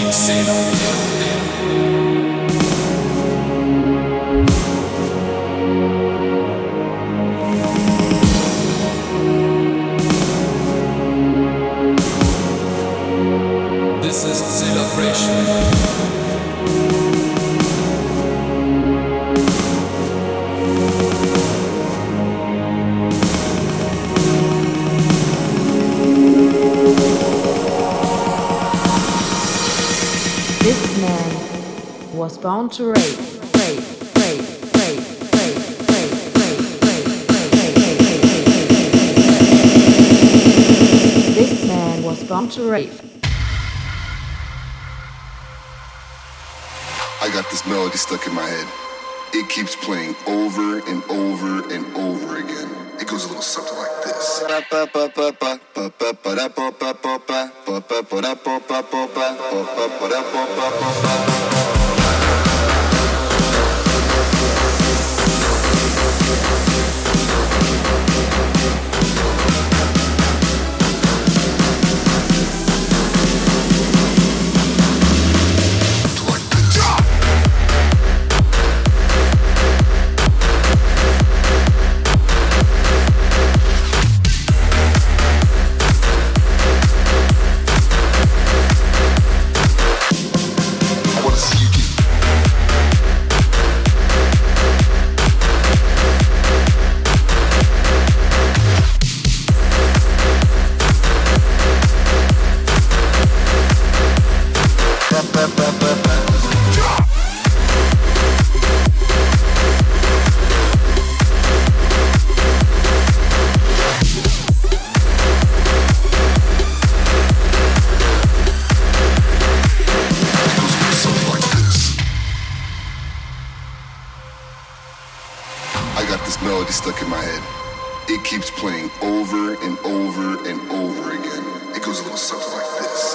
Bound to rape. This man was bound to rape. I got this melody stuck in my head. It keeps playing over and over and over again. It goes a little something like this. Stuck in my head. It keeps playing over and over and over again. It goes a little something like this.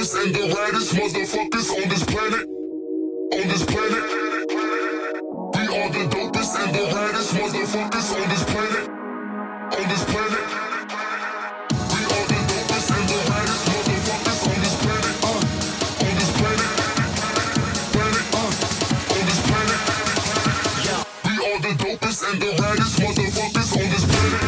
dopest and the raddest motherfuckers on this planet. On this planet. We are the dopest and the raddest motherfuckers on this planet. On this planet. We are the dopest and the raddest motherfuckers on this planet. On this planet. Planet. On this planet. We are the dopest and the raddest motherfuckers on this planet.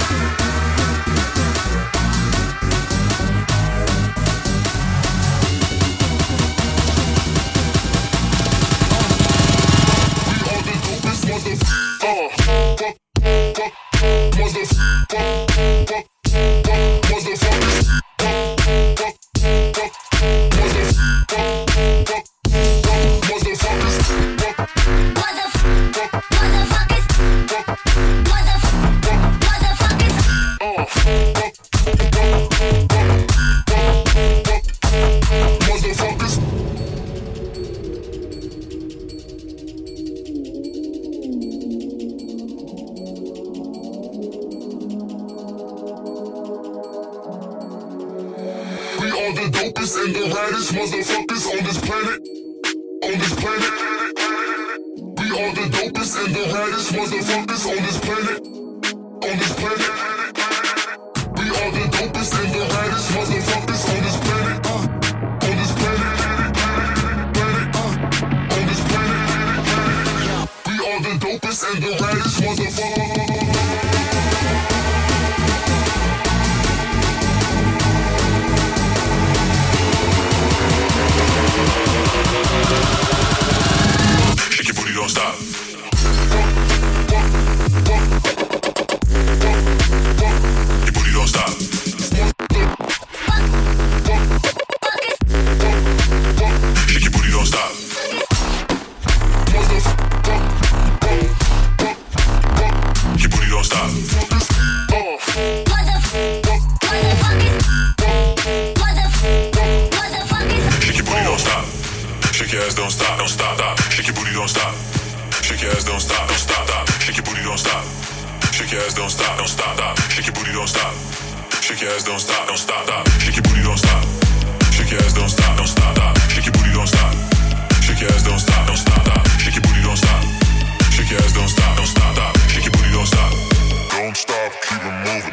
And the raddest motherfuckers on this planet. On this planet. We are the dopest and the raddest motherfuckers on this planet. On this planet. We are the dopest and the raddest motherfuckers on this planet. On this planet. Planet. On this planet. We are the dopest and the raddest motherfuckers. Shake your booty, don't stop. Your booty don't stop. Shake your booty, don't stop. Your booty don't stop. Shake your booty, don't stop. Shake your ass, don't stop, don't stop, stop. Shake your booty, don't stop. Shake your ass, don't stop, don't stop, stop. Shake your booty, don't stop. Shake your ass, don't stop, don't stop, stop. Shake your booty, don't stop. Shake your ass, don't stop, don't stop, stop. Shake your booty, don't stop. Shake your ass, don't stop, don't stop, stop. Shake your booty, don't stop. Shake your ass, don't stop, don't stop, stop. Shake your booty, don't stop. Shake your ass, don't stop, don't stop, stop. Shake your booty, don't stop. Don't stop, keep it moving.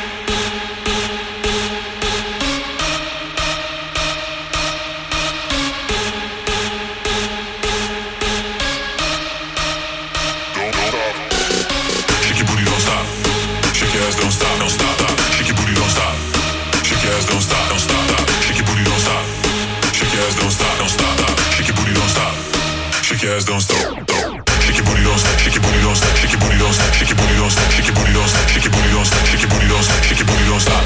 Don't stop, don't stop, stop. Shake your booty, don't stop. Shake your ass, don't stop, don't stop, stop. Shake your booty, don't stop. Shake your ass, don't stop, don't stop, stop. Shake your booty, don't stop. Shake your ass, don't stop, stop. Shake your booty, don't stop. Shake your booty, don't stop. Shake your booty, don't stop. Shake your booty, don't stop. Shake your booty, don't stop. Shake your booty, don't stop. Shake your booty, don't stop. Shake your booty, don't stop.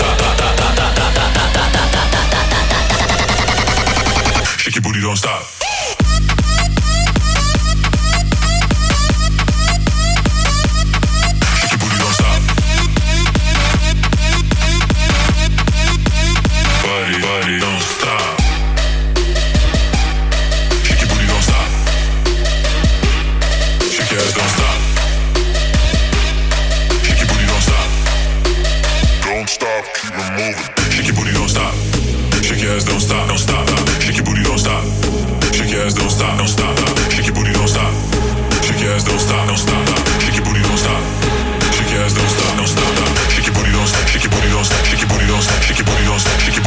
Shake your booty, don't stop. Body, don't stop. Shake your booty, don't stop. Shake your ass, don't stop. Shake your booty, don't stop. Don't stop, keep it moving. Shake your booty, don't stop. Shake your ass, don't stop, don't stop, stop. Shake your booty, don't stop. Shake your ass, don't stop, don't stop, stop. Shake your booty, don't stop. Shake your ass, don't stop, don't stop, stop. Shake your booty, don't stop. Shake your ass, don't stop, don't stop, stop. Shake your booty, don't stop. Shake your booty, don't stop. Shake your booty, don't stop. Shake your booty, don't stop.